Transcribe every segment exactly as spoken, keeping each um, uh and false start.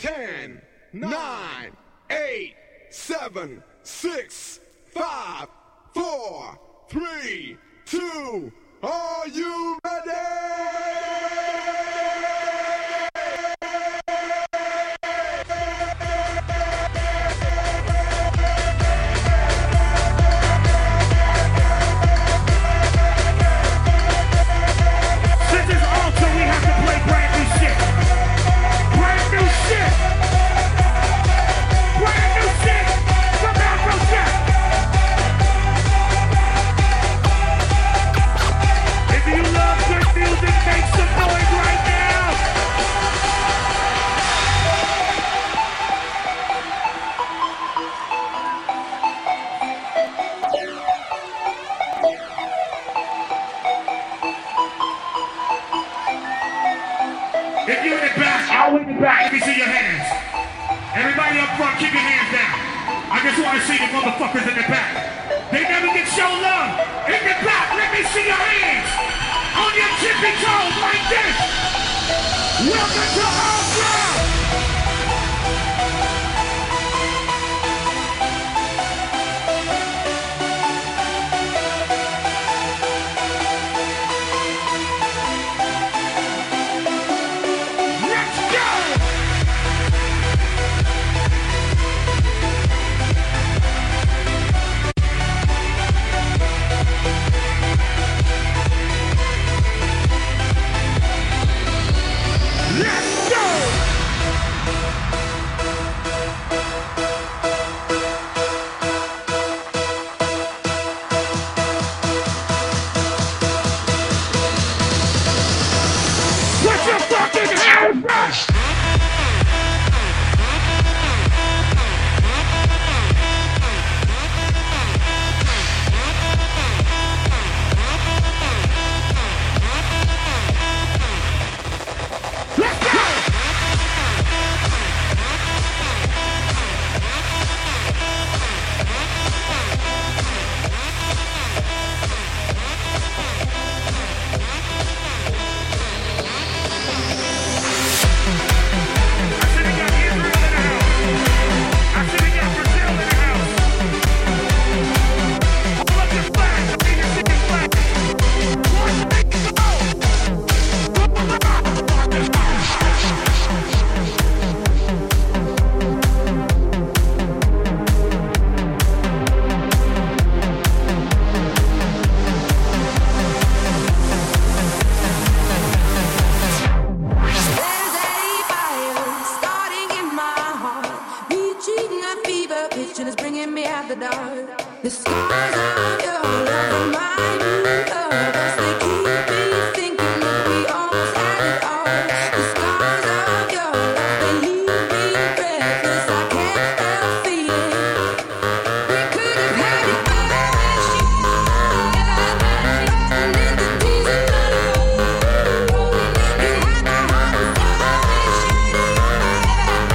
ten, nine, eight, seven, six, five, four, three, two, are you ready? Let me see your hands. Everybody up front, keep your hands down. I just want to see the motherfuckers in the back. They never get shown love. In the back, let me see your hands. On your tippy toes like this. Welcome to All Ground.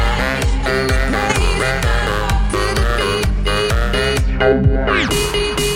Beep, beep, beep.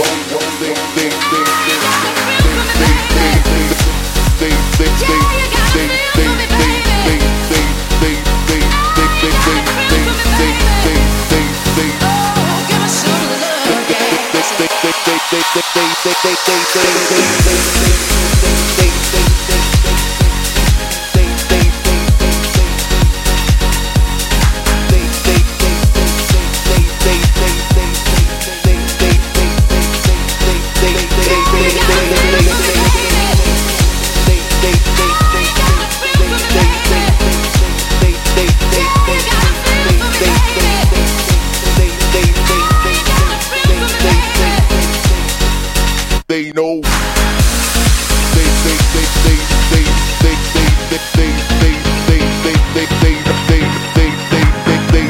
They know. They they they they they they they they they they they they they they they they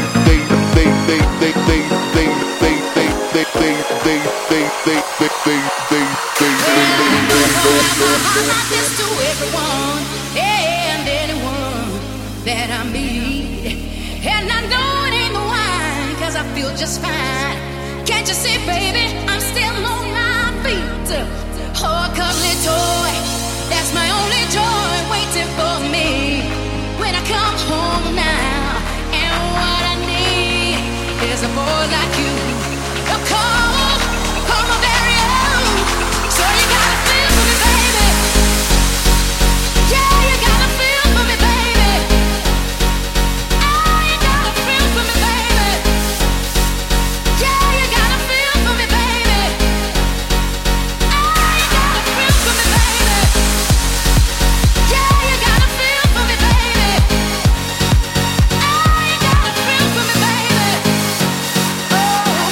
just fine. Can't you see, baby, I'm still on my feet. Oh, a cuddly toy, that's my only joy waiting for me when I come home now. And what I need is a boy like you. A call, call my very own. So you gotta feel for me, baby. Yeah, you gotta feel for me, baby. Oh, you gotta feel for me, baby. Yeah, you gotta feel for me, baby. Oh, you gotta feel for me, baby. Yeah, you gotta feel for me, baby. Oh, you gotta feel for me, baby. Oh,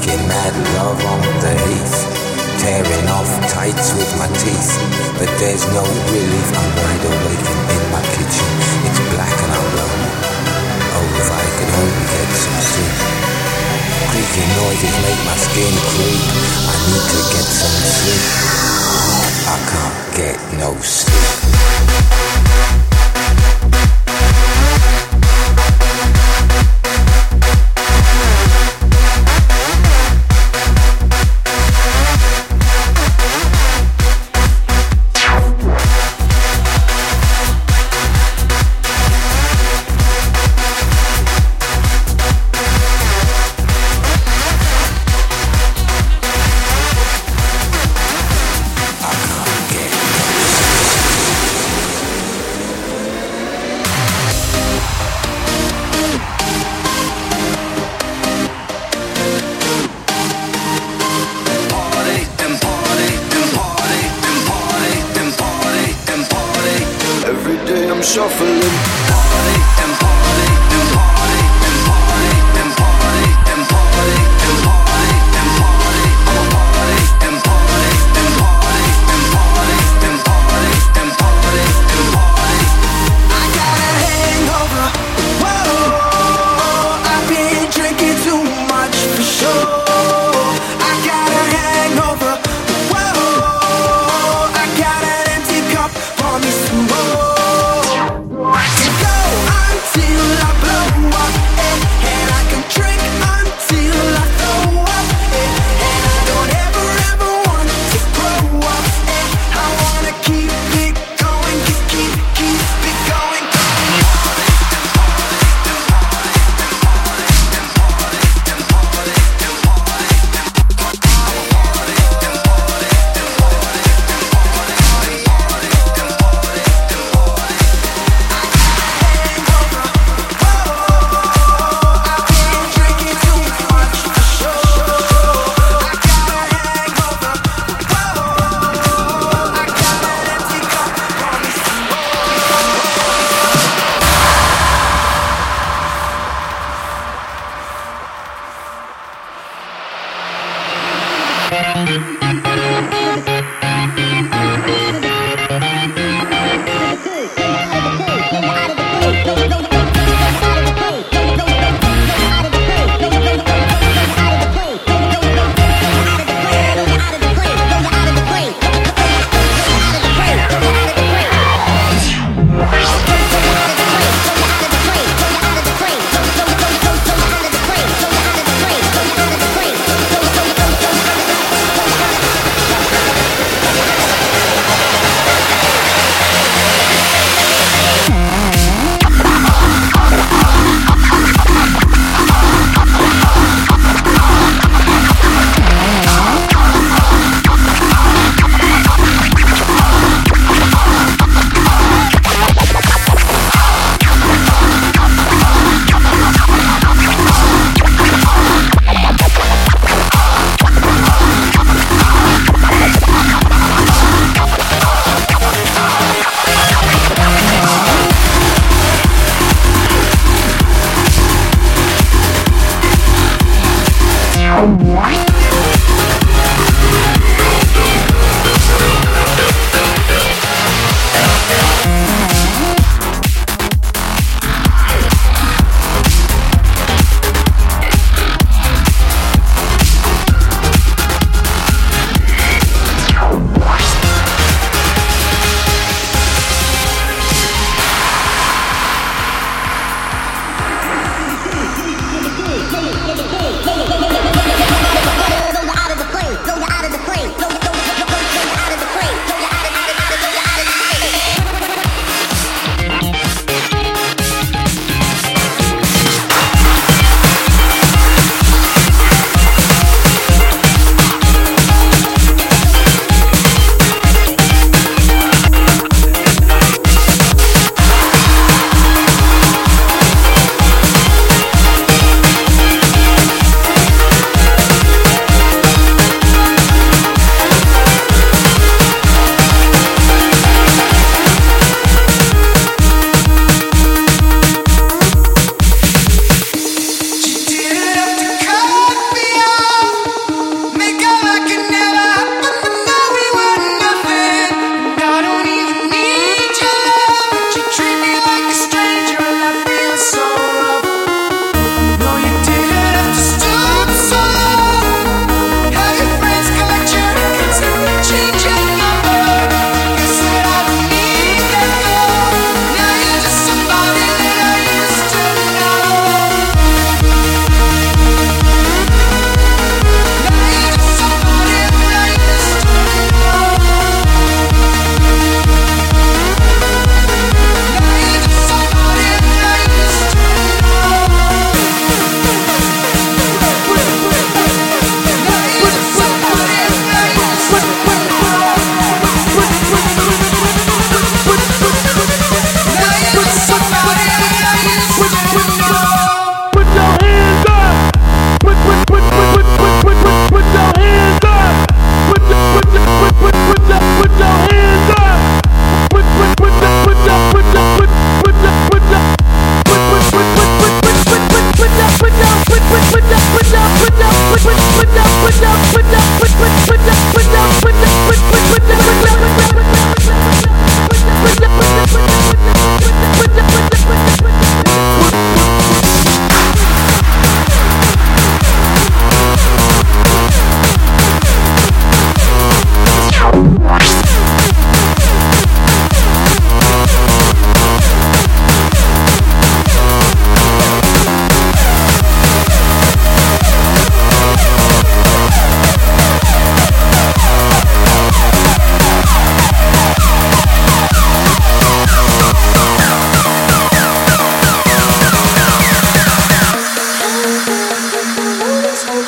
making mad love on the heath, tearing off tights with my teeth. But there's no relief, I'm wide awake in my kitchen. It's black and I'm lonely. Oh, if I could only get some sleep. Creaking noises make my skin creep. I need to get some sleep. I can't get no sleep.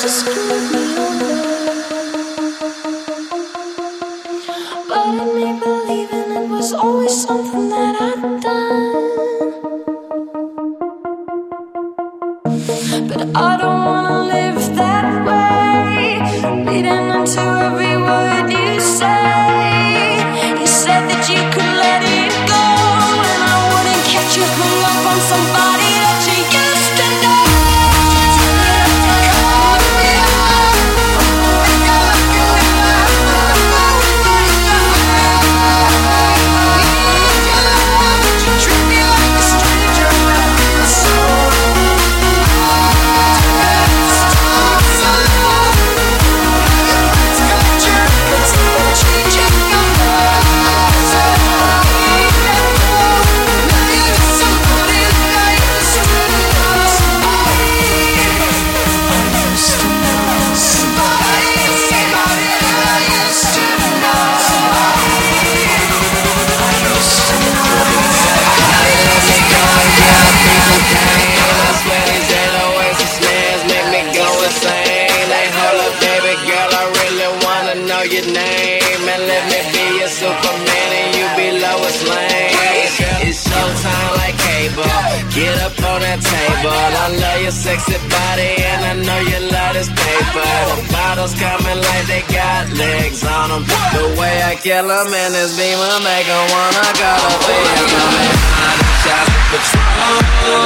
Kill them in this beamer, make them wanna go to Vietnam. Shots of Patron,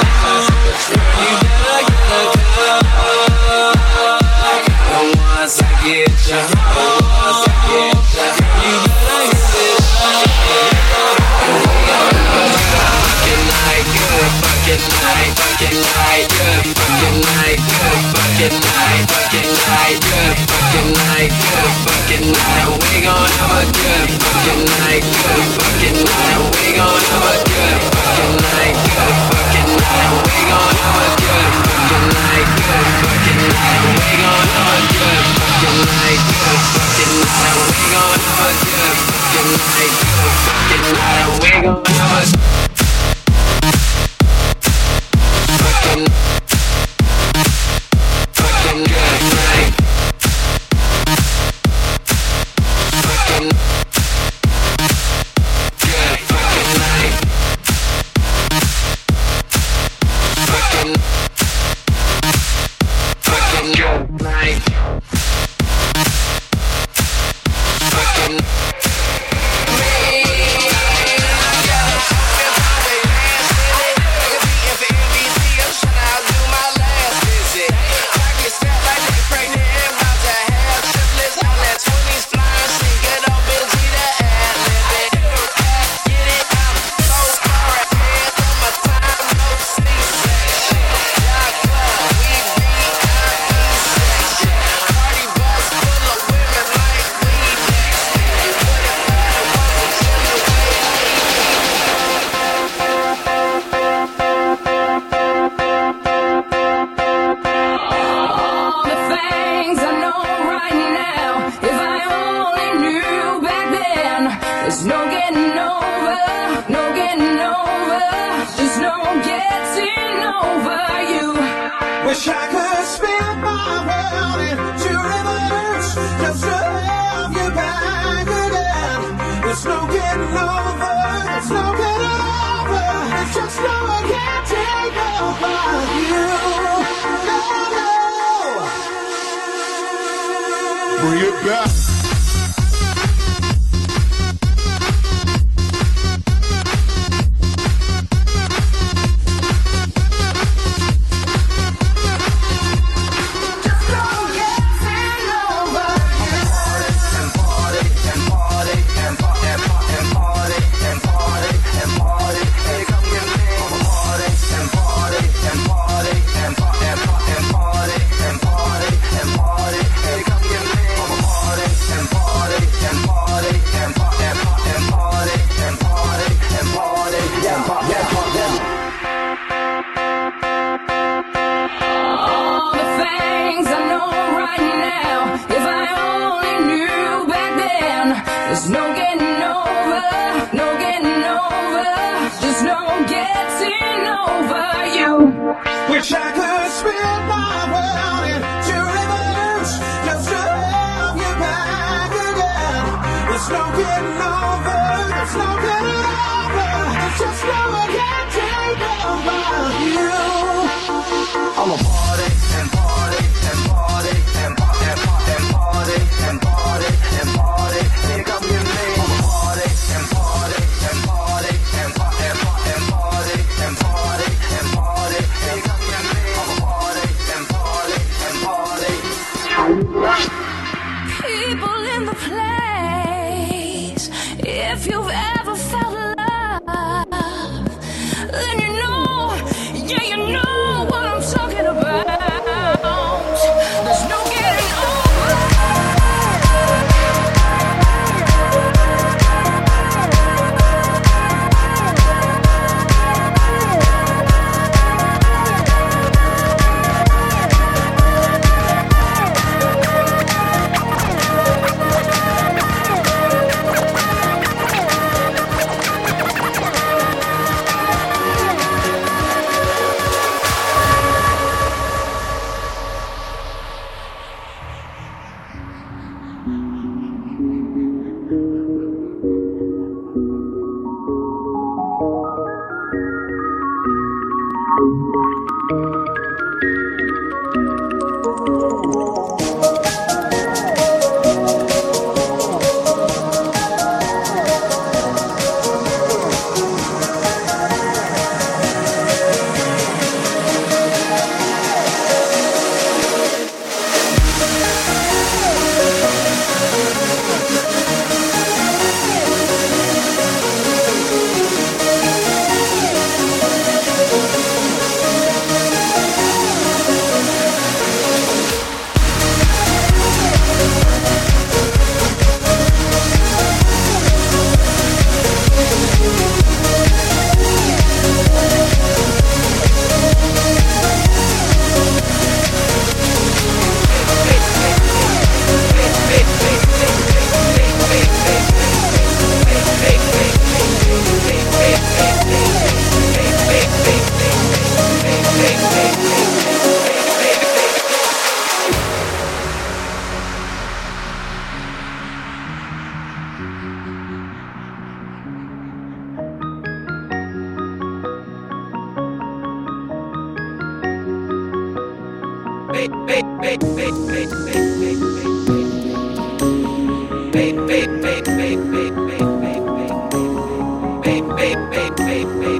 you better get a cup. And once I get you home, once I get you, you better get it up. And we gon' have a fucking night, good fucking night, fucking night, good fucking night, good fucking night, fucking night, good fucking night, good fucking night. We gon' have a good fucking night, good fucking night. We gon' have a good fucking night, good fucking night. We gon' have a good fucking night, good fucking night. We gon' have a good fucking night, good fucking night. We gon' have a good fucking night, good fucking night. We gon' have a fucking fucking good night. Fucking good fucking night. Fucking fucking good night. Fucking me. Wish I could spin my world into reverse just to have you back again. There's no getting over, there's no getting over. It's just no one can take over you. No, no. Bring it back. And There's no getting over, there's no getting over. There's just no one can take over you. I'm a party and party and party and party and party and party and party. Here come your name. I'm a party and party and party and party and party and party and party and party. Here come your name. I'm a party and party and party. People in the place, if you've ever felt love, then you know, yeah, you know what I'm talking about. There's no getting over. Baby, baby, baby, baby, baby, baby, baby, baby, baby, baby,